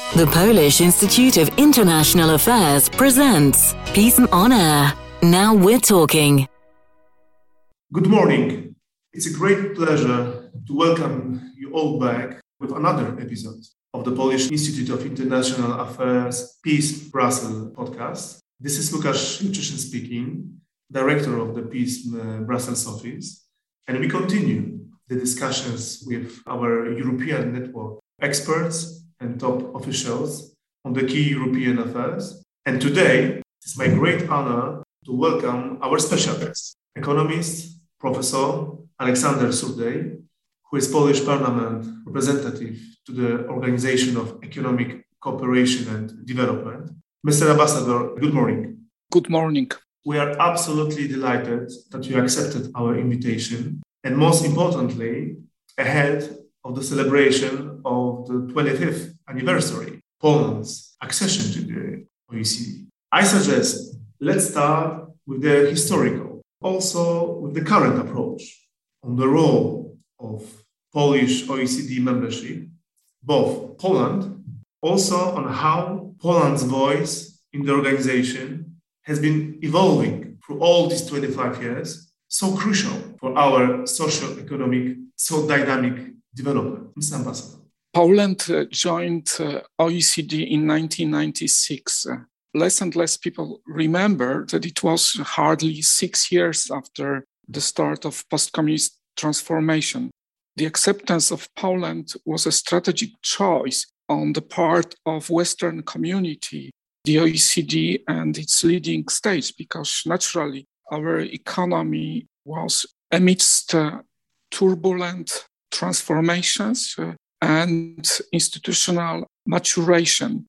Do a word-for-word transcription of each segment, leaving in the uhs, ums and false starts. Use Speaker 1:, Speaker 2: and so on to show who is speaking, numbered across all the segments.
Speaker 1: The Polish Institute of International Affairs presents Peace on Air. Now we're talking.
Speaker 2: Good morning. It's a great pleasure to welcome you all back with another episode of the Polish Institute of International Affairs Peace Brussels podcast. This is Łukasz Juczyszyn speaking, director of the Peace Brussels office, and we continue the discussions with our European network experts and top officials on the key European affairs. And today, it's my great honor to welcome our special guest, economist, Professor Aleksander Surdej, who is Polish Parliament representative to the Organization of Economic Cooperation and Development. Mister Ambassador, good morning.
Speaker 3: Good morning.
Speaker 2: We are absolutely delighted that you accepted our invitation, and most importantly, ahead of the celebration of the twenty-fifth anniversary, Poland's accession to the O E C D. I suggest let's start with the historical, also with the current approach on the role of Polish O E C D membership, both Poland, also on how Poland's voice in the organization has been evolving through all these twenty-five years, so crucial for our socio-economic, so dynamic development. Mister Ambassador.
Speaker 3: Poland uh, joined uh, O E C D in nineteen ninety-six. Uh, less and less people remember that it was hardly six years after the start of post-communist transformation. The acceptance of Poland was a strategic choice on the part of Western community, the O E C D and its leading states, because naturally our economy was amidst uh, turbulent transformations uh, and institutional maturation.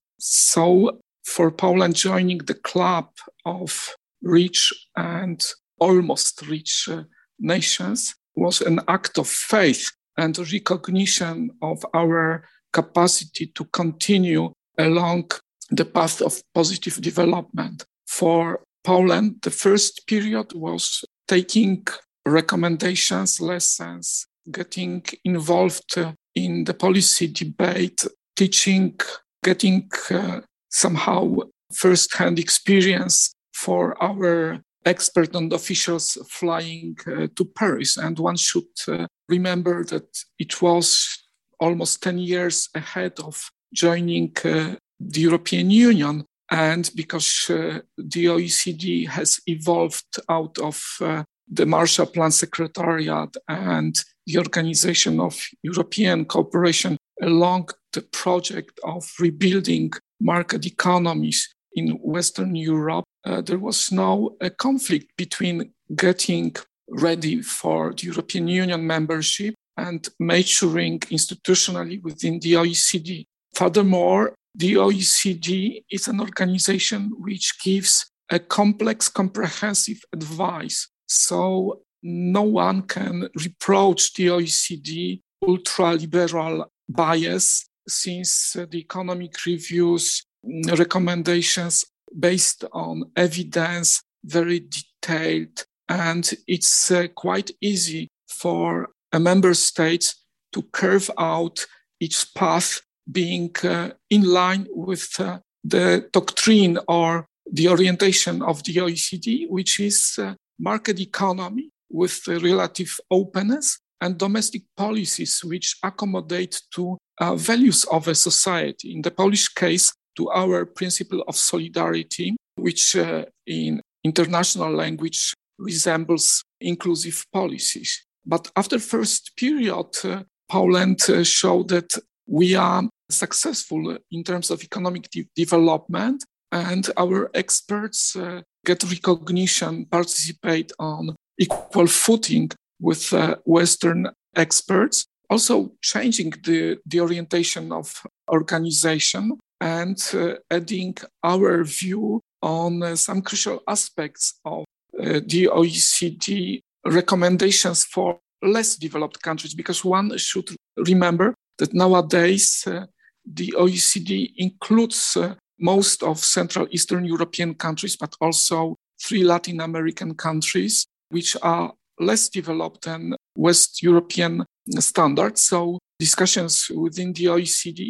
Speaker 3: So for Poland, joining the club of rich and almost rich uh, nations was an act of faith and recognition of our capacity to continue along the path of positive development. For Poland, the first period was taking recommendations, lessons, getting involved uh, in the policy debate, teaching, getting uh, somehow first-hand experience for our experts and officials flying uh, to Paris. And one should uh, remember that it was almost ten years ahead of joining uh, the European Union. And because uh, the O E C D has evolved out of uh, the Marshall Plan Secretariat and the Organization of European Cooperation along the project of rebuilding market economies in Western Europe, uh, there was now a conflict between getting ready for the European Union membership and maturing institutionally within the O E C D. Furthermore, the O E C D is an organization which gives a complex, comprehensive advice. So no one can reproach the O E C D ultra-liberal bias, since uh, the economic reviews, recommendations based on evidence, very detailed, and it's uh, quite easy for a member state to carve out each path being uh, in line with uh, the doctrine or the orientation of the O E C D, which is uh, market economy with uh, relative openness and domestic policies which accommodate to uh, values of a society. In the Polish case, to our principle of solidarity, which uh, in international language resembles inclusive policies. But after first period, uh, Poland uh, showed that we are successful in terms of economic de- development, and our experts uh, get recognition, participate on equal footing with uh, Western experts, also changing the, the orientation of organization and uh, adding our view on uh, some crucial aspects of uh, the O E C D recommendations for less developed countries, because one should remember that nowadays uh, the O E C D includes uh, most of Central Eastern European countries, but also three Latin American countries, which are less developed than West European standards. So discussions within the O E C D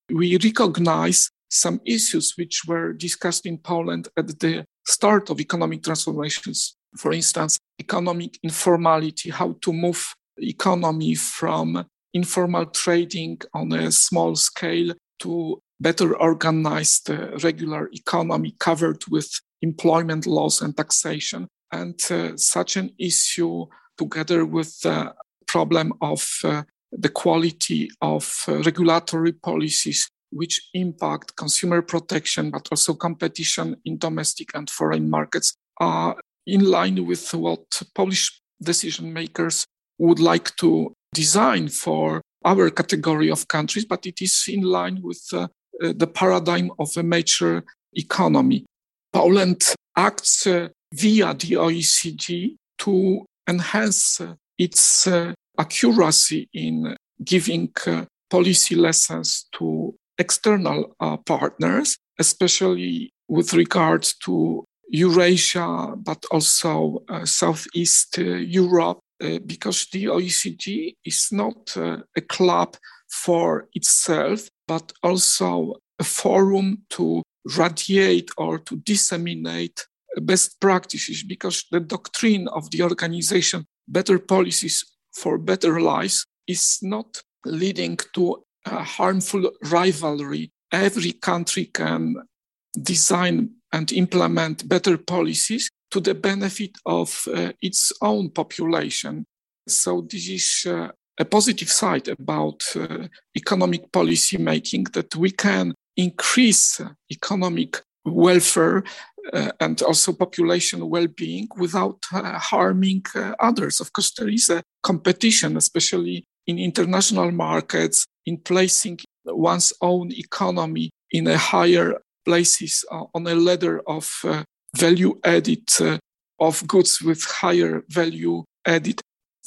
Speaker 3: we recognize some issues which were discussed in Poland at the start of economic transformations. For instance, economic informality, how to move economy from informal trading on a small scale to better organized uh, regular economy covered with employment laws and taxation. And uh, such an issue, together with the problem of uh, the quality of uh, regulatory policies, which impact consumer protection, but also competition in domestic and foreign markets, are in line with what Polish decision makers would like to design for our category of countries, but it is in line with uh, uh, the paradigm of a mature economy. Poland acts uh, via the O E C D to enhance uh, its uh, accuracy in giving uh, policy lessons to external uh, partners, especially with regard to Eurasia, but also uh, Southeast uh, Europe, uh, because the O E C D is not uh, a club for itself, but also a forum to radiate or to disseminate best practices, because the doctrine of the organization, better policies for better lives, is not leading to a harmful rivalry. Every country can design and implement better policies to the benefit of uh, its own population. So this is uh, a positive side about uh, economic policy making, that we can increase uh, economic welfare uh, and also population well-being without uh, harming uh, others. Of course, there is a competition, especially in international markets, in placing one's own economy in a higher places uh, on a ladder of uh, value added, uh, of goods with higher value added.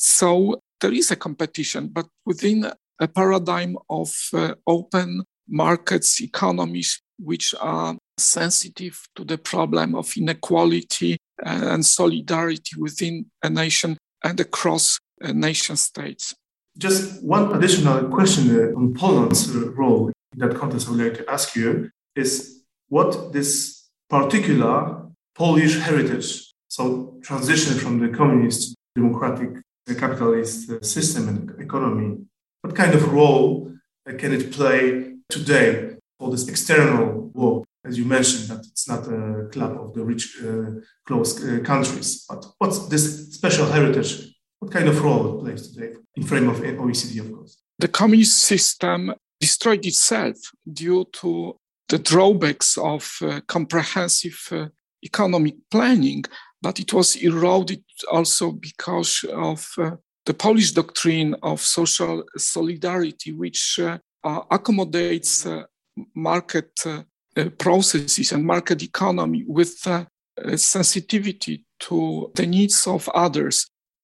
Speaker 3: So there is a competition, but within a paradigm of uh, open markets, economies, which are sensitive to the problem of inequality and solidarity within a nation and across uh, nation states.
Speaker 2: Just one additional question uh, on Poland's uh, role in that context I would like to ask you is what this particular Polish heritage, so transition from the communist, democratic, uh, capitalist uh, system and economy, what kind of role uh, can it play today for this external world? As you mentioned, that it's not a club of the rich, uh, close uh, countries, but what's this special heritage? What kind of role it plays today in frame of O E C D, of course?
Speaker 3: The communist system destroyed itself due to the drawbacks of uh, comprehensive uh, economic planning, but it was eroded also because of uh, the Polish doctrine of social solidarity, which uh, uh, accommodates uh, market uh, uh, processes and market economy with uh, uh, sensitivity to the needs of others.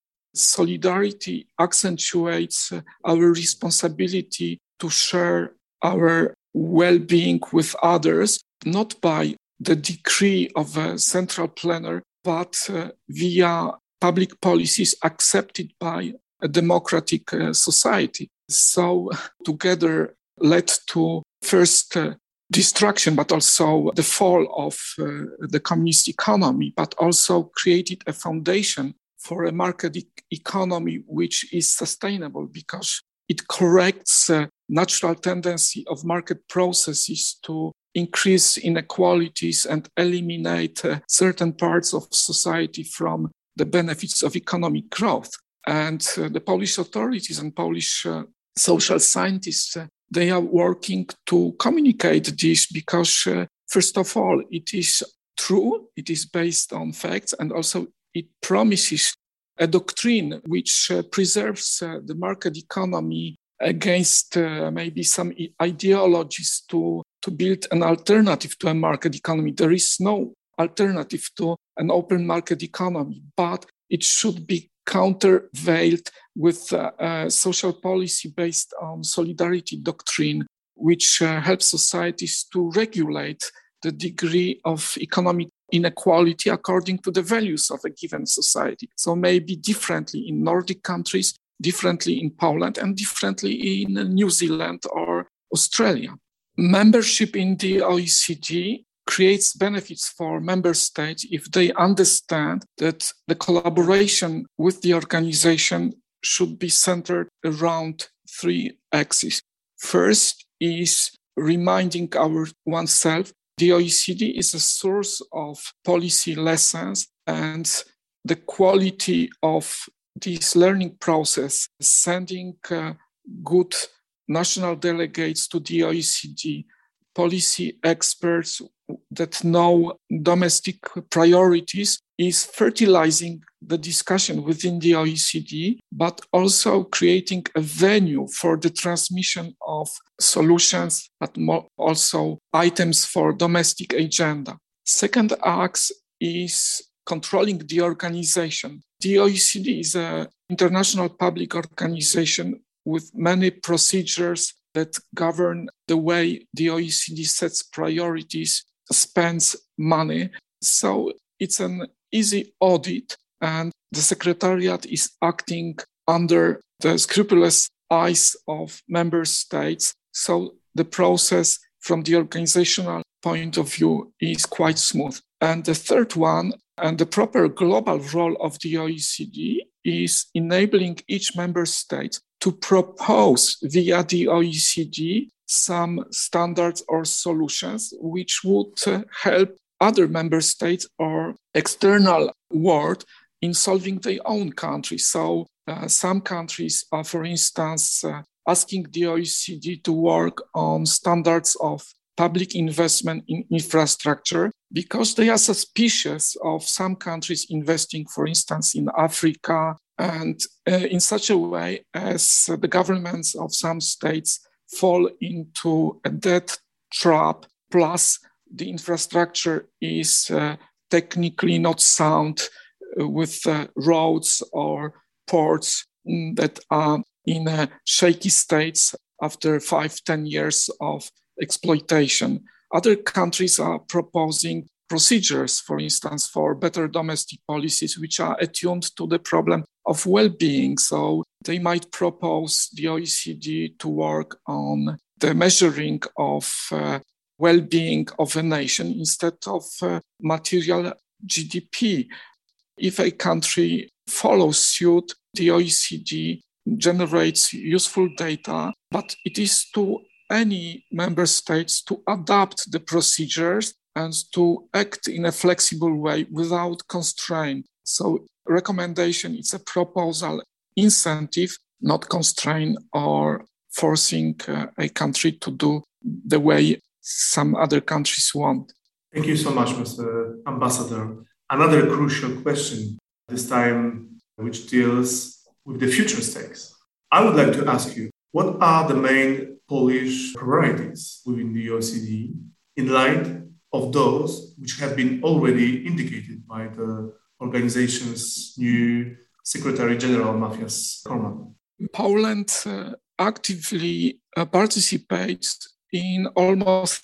Speaker 3: Solidarity accentuates uh, our responsibility to share our well-being with others, not by the decree of a central planner, but uh, via public policies accepted by a democratic uh, society. So together led to first uh, destruction, but also the fall of uh, the communist economy, but also created a foundation for a market e- economy which is sustainable, because it corrects uh, natural tendency of market processes to increase inequalities and eliminate uh, certain parts of society from the benefits of economic growth. And uh, the Polish authorities and Polish uh, social scientists, uh, they are working to communicate this because, uh, first of all, it is true, it is based on facts, and also it promises a doctrine which uh, preserves uh, the market economy against uh, maybe some ideologies to, to build an alternative to a market economy. There is no alternative to an open market economy, but it should be countervailed with uh, a social policy based on solidarity doctrine, which uh, helps societies to regulate the degree of economic inequality according to the values of a given society. So maybe differently in Nordic countries, differently in Poland, and differently in New Zealand or Australia. membership in the O E C D creates benefits for member states if they understand that the collaboration with the organization should be centered around three axes. First is reminding our oneself the O E C D is a source of policy lessons, and the quality of this learning process, sending uh, good national delegates to the O E C D, policy experts that know domestic priorities, is fertilizing the discussion within the O E C D, but also creating a venue for the transmission of solutions, but more also items for domestic agenda. Second axe is controlling the organization. The O E C D is an international public organization with many procedures that govern the way the O E C D sets priorities, spends money. So it's an easy audit, and the Secretariat is acting under the scrupulous eyes of member states. So the process from the organizational point of view is quite smooth. And the third one, and the proper global role of the O E C D, is enabling each member state to propose via the O E C D some standards or solutions which would uh, help other member states or external world in solving their own country. So uh, some countries are, for instance, uh, asking the O E C D to work on standards of public investment in infrastructure because they are suspicious of some countries investing, for instance, in Africa, and uh, in such a way as uh, the governments of some states fall into a debt trap, plus the infrastructure is uh, technically not sound uh, with uh, roads or ports mm, that are in uh, shaky states after five, ten years of exploitation. Other countries are proposing procedures, for instance, for better domestic policies, which are attuned to the problem of well-being. So they might propose the O E C D to work on the measuring of uh, well-being of a nation instead of uh, material G D P. If a country follows suit, the O E C D generates useful data, but it is to any member states to adapt the procedures and to act in a flexible way without constraint. So recommendation is a proposal, incentive, not constraint or forcing uh, a country to do the way some other countries want.
Speaker 2: Thank you so much, Mister Ambassador. Another crucial question, this time which deals with the future stakes. I would like to ask you, what are the main Polish priorities within the O E C D in light of those which have been already indicated by the organization's new Secretary General, Matthias Kormann?
Speaker 3: Poland uh, actively uh, participates in almost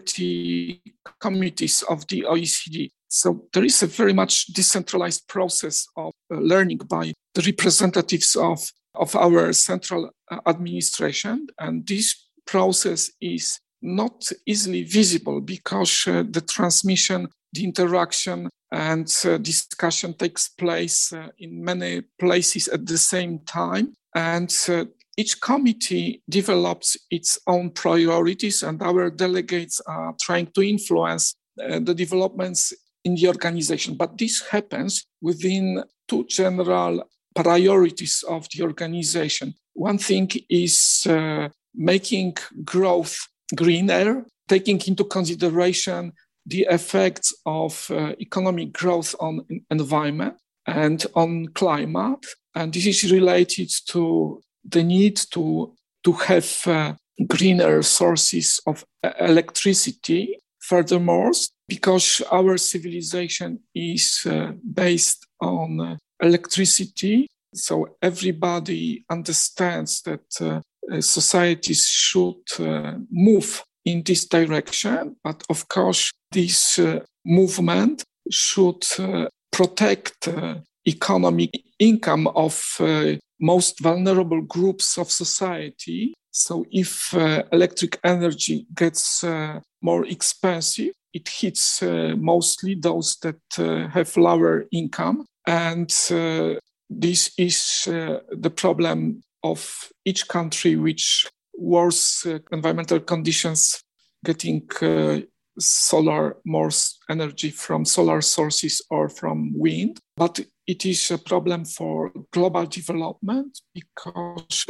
Speaker 3: thirty committees of the O E C D. So there is a very much decentralized process of uh, learning by the representatives of, of our central uh, administration. And this process is not easily visible because uh, the transmission, the interaction and uh, discussion takes place uh, in many places at the same time. And uh, each committee develops its own priorities, and our delegates are trying to influence uh, the developments in the organization. But this happens within two general priorities of the organization. One thing is uh, making growth greener, taking into consideration the effects of uh, economic growth on environment and on climate. And this is related to the need to, to have uh, greener sources of electricity. Furthermore, because our civilization is uh, based on uh, electricity, so everybody understands that uh, societies should uh, move in this direction. But of course, this uh, movement should uh, protect uh, economic income of uh, most vulnerable groups of society. So if uh, electric energy gets uh, more expensive, it hits uh, mostly those that uh, have lower income. And uh, this is uh, the problem of each country which worse uh, environmental conditions, getting uh, solar, more energy from solar sources or from wind. But it is a problem for global development because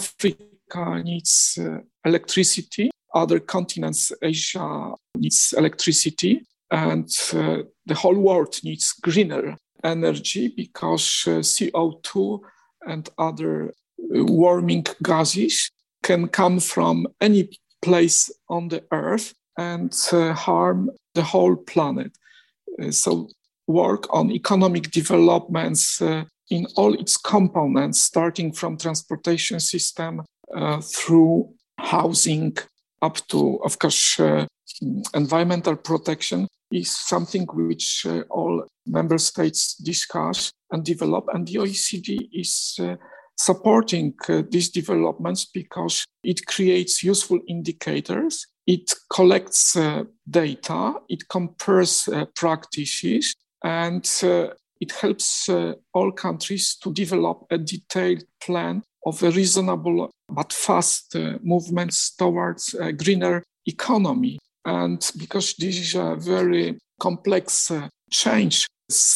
Speaker 3: Africa needs uh, electricity. Other continents, Asia needs electricity, and uh, the whole world needs greener energy because uh, C O two and other uh, warming gases can come from any place on the earth and uh, harm the whole planet. Uh, so work on economic developments uh, in all its components, starting from transportation system uh, through housing up to, of course, uh, environmental protection is something which uh, all member states discuss and develop. And the O E C D is uh, supporting uh, these developments because it creates useful indicators, it collects uh, data, it compares uh, practices, and uh, it helps uh, all countries to develop a detailed plan of a reasonable but fast uh, movements towards a greener economy. And because this is a very complex uh, change,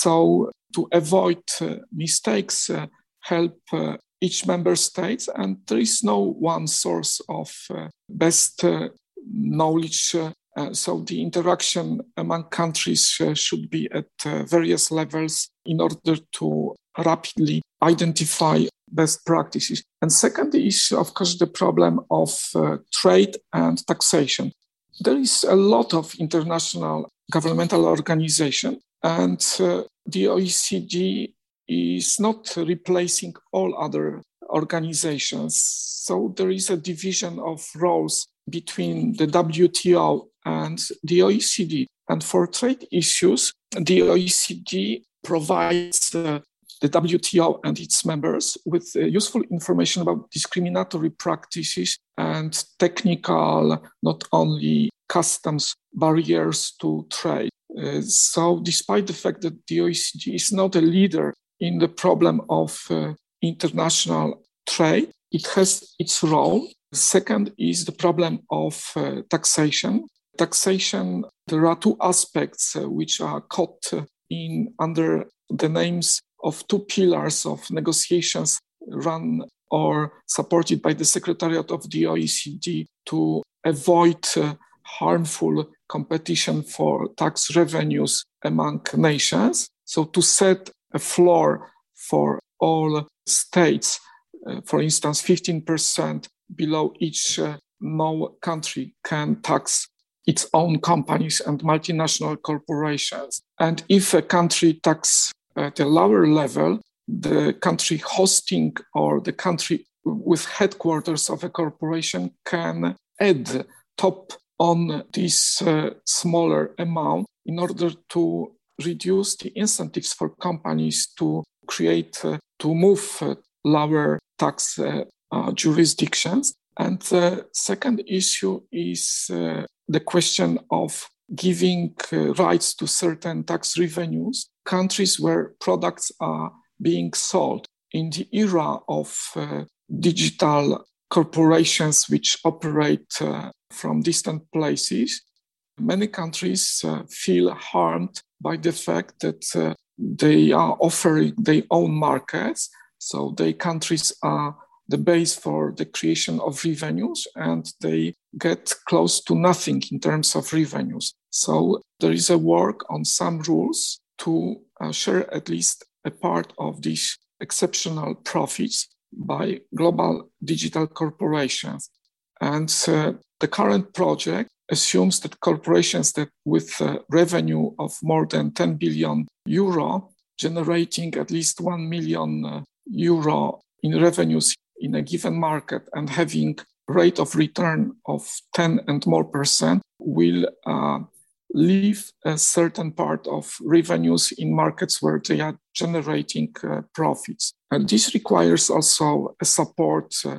Speaker 3: so to avoid uh, mistakes, uh, help uh, each member state, and there is no one source of uh, best uh, knowledge. Uh, uh, so the interaction among countries uh, should be at uh, various levels in order to rapidly identify best practices. And second is, of course, the problem of uh, trade and taxation. There is a lot of international governmental organization, and uh, the O E C D is not replacing all other organizations. So there is a division of roles between the W T O and the O E C D. And for trade issues, the O E C D provides uh, the W T O and its members with uh, useful information about discriminatory practices and technical, not only customs barriers to trade. Uh, so despite the fact that the O E C D is not a leader in the problem of uh, international trade, it has its role. Second is the problem of uh, taxation. Taxation, there are two aspects uh, which are caught uh, in under the names of two pillars of negotiations run or supported by the Secretariat of the O E C D to avoid uh, harmful competition for tax revenues among nations. So to set a floor for all states, uh, for instance, fifteen percent below each, uh, no country can tax its own companies and multinational corporations. And if a country tax at a lower level, the country hosting or the country with headquarters of a corporation can add top on this uh, smaller amount in order to reduce the incentives for companies to create, uh, to move uh, lower tax uh, uh, jurisdictions. And the second issue is uh, the question of giving uh, rights to certain tax revenues, countries where products are being sold. In the era of uh, digital corporations which operate uh, from distant places, many countries uh, feel harmed by the fact that uh, they are offering their own markets. So their countries are the base for the creation of revenues, and they get close to nothing in terms of revenues. So there is a work on some rules to uh, share at least a part of these exceptional profits by global digital corporations. And uh, the current project assumes that corporations that with a revenue of more than ten billion euro, generating at least one million uh, euro in revenues in a given market and having rate of return of ten and more percent will uh, leave a certain part of revenues in markets where they are generating uh, profits. And this requires also a support uh,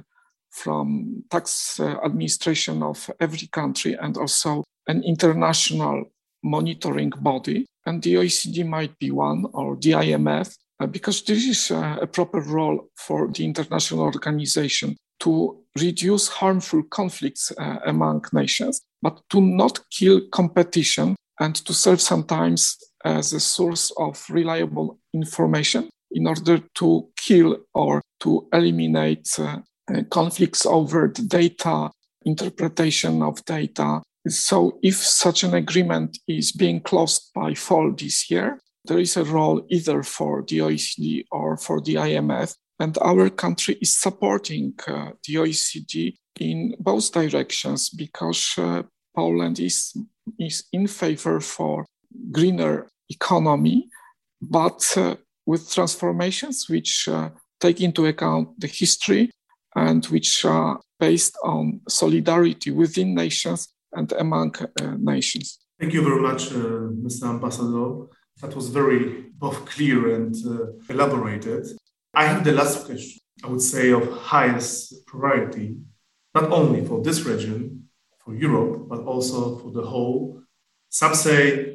Speaker 3: from tax uh, administration of every country and also an international monitoring body. And the O E C D might be one, or the I M F, uh, because this is uh, a proper role for the international organization to reduce harmful conflicts uh, among nations, but to not kill competition and to serve sometimes as a source of reliable information in order to kill or to eliminate uh, uh, conflicts over the data, interpretation of data. So if such an agreement is being closed by fall this year, there is a role either for the O E C D or for the I M F. And our country is supporting uh, the O E C D in both directions because uh, Poland is, is in favor for greener economy, but uh, with transformations which uh, take into account the history and which are based on solidarity within nations and among uh, nations.
Speaker 2: Thank you very much, uh, Mister Ambassador. That was very both clear and uh, elaborated. I have the last question, I would say, of highest priority, not only for this region, for Europe, but also for the whole, some say,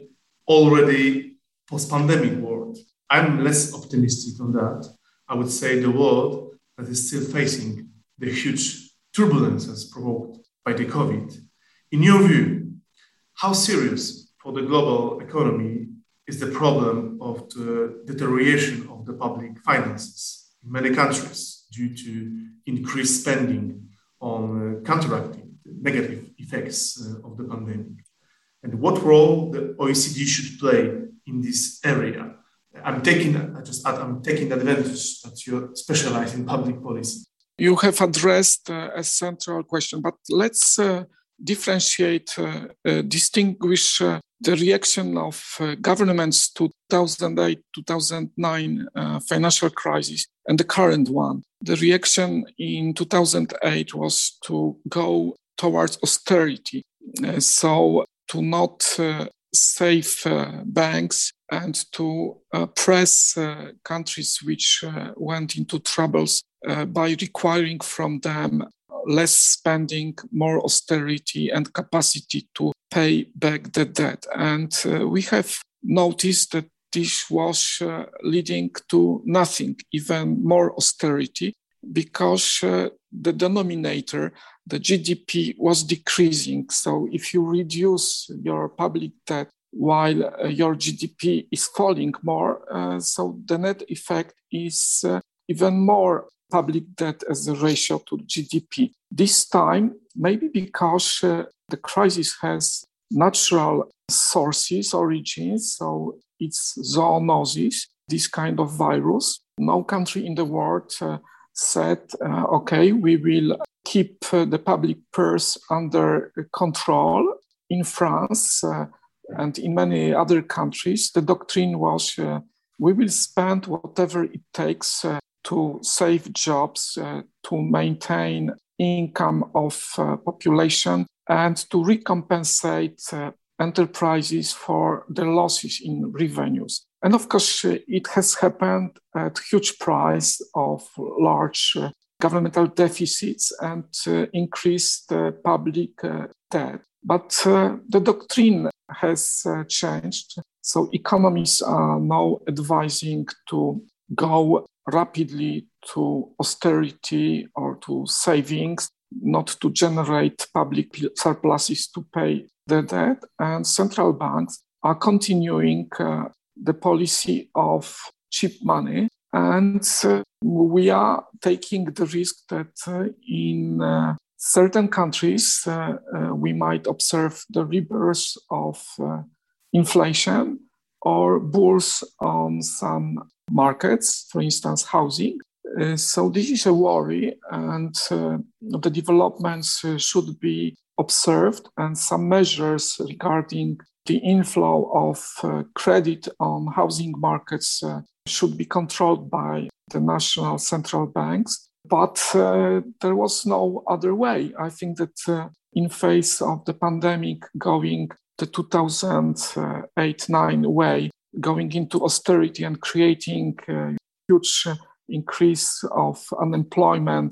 Speaker 2: already post-pandemic world. I'm less optimistic on that. I would say the world that is still facing the huge turbulences provoked by the COVID. In your view, how serious for the global economy is the problem of the deterioration of the public finances in many countries due to increased spending on uh, counteracting the negative effects uh, of the pandemic? And what role the O E C D should play in this area? I'm taking, I just add, I'm taking advantage that you specialize in public policy.
Speaker 3: You have addressed uh, a central question, but let's uh, differentiate, uh, uh, distinguish uh, the reaction of uh, governments to two thousand eight, two thousand nine uh, financial crisis and the current one. The reaction in two thousand eight was to go towards austerity, uh, so to not uh, save uh, banks and to uh, press uh, countries which uh, went into troubles uh, by requiring from them less spending, more austerity and capacity to pay back the debt. And uh, we have noticed that this was uh, leading to nothing, even more austerity, because uh, the denominator, the G D P, was decreasing. So if you reduce your public debt while uh, your G D P is falling more, uh, so the net effect is uh, even more public debt as a ratio to G D P. This time, maybe because uh, the crisis has natural sources, origins, so it's zoonosis, this kind of virus. No country in the world uh, said, uh, okay, we will keep uh, the public purse under control. In France uh, and in many other countries, the doctrine was uh, we will spend whatever it takes uh, to save jobs, uh, to maintain income of uh, population, and to recompensate uh, enterprises for the losses in revenues. And of course, uh, it has happened at huge price of large uh, governmental deficits and uh, increased uh, public uh, debt. But uh, the doctrine has uh, changed. So economists are now advising to go rapidly to austerity or to savings, not to generate public surpluses to pay the debt. And central banks are continuing uh, the policy of cheap money. And uh, we are taking the risk that uh, in uh, certain countries, uh, uh, we might observe the rebirth of uh, inflation or bulls on some markets, for instance, housing. Uh, so this is a worry, and uh, the developments uh, should be observed, and some measures regarding the inflow of uh, credit on housing markets uh, should be controlled by the national central banks. But uh, there was no other way. I think that uh, in face of the pandemic, going the two thousand eight nine way, going into austerity and creating a huge increase of unemployment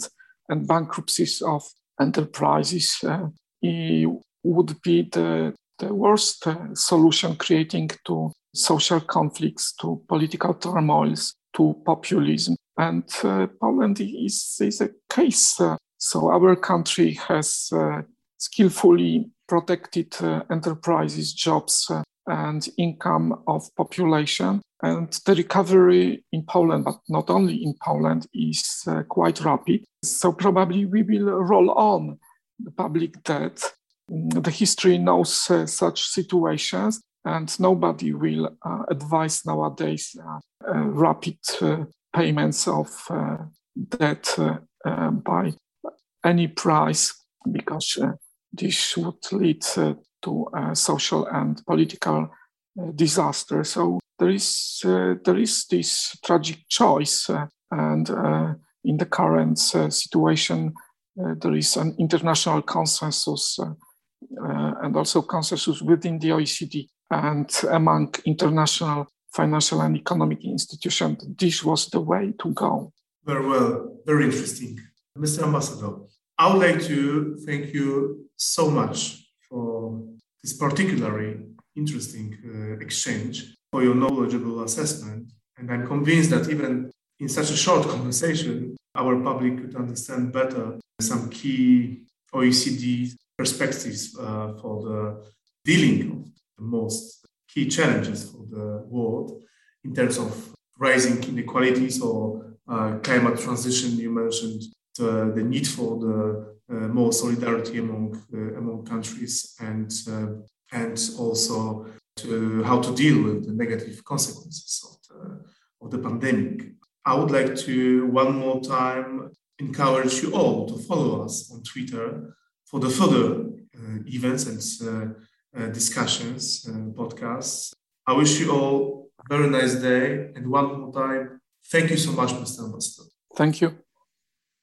Speaker 3: and bankruptcies of enterprises uh, it would be the, the worst uh, solution, creating to social conflicts, to political turmoils, to populism. And uh, Poland is, is a case. Uh, so our country has uh, skillfully protected uh, enterprises, jobs, uh, and income of population. And the recovery in Poland, but not only in Poland, is uh, quite rapid. So probably we will roll on the public debt. The history knows uh, such situations, and nobody will uh, advise nowadays uh, uh, rapid uh, payments of uh, debt uh, uh, by any price, because uh, this would lead uh, to a social and political uh, disaster. So there is uh, there is this tragic choice, uh, and uh, in the current uh, situation, uh, there is an international consensus uh, uh, and also consensus within the O E C D and among international financial and economic institutions. This was the way to go.
Speaker 2: Very well, very interesting. Mister Ambassador, I would like to thank you so much for this particularly interesting uh, exchange, for your knowledgeable assessment. And I'm convinced that even in such a short conversation, our public could understand better some key O E C D perspectives uh, for the dealing of the most key challenges for the world in terms of rising inequalities or uh, climate transition. You mentioned the, the need for the uh, more solidarity among uh, among countries, and uh, and also to how to deal with the negative consequences of the, of the pandemic. I would like to one more time encourage you all to follow us on Twitter for the further uh, events and uh, uh, discussions and podcasts. I wish you all a very nice day, and one more time, thank you so much, Mister Ambassador.
Speaker 3: Thank you.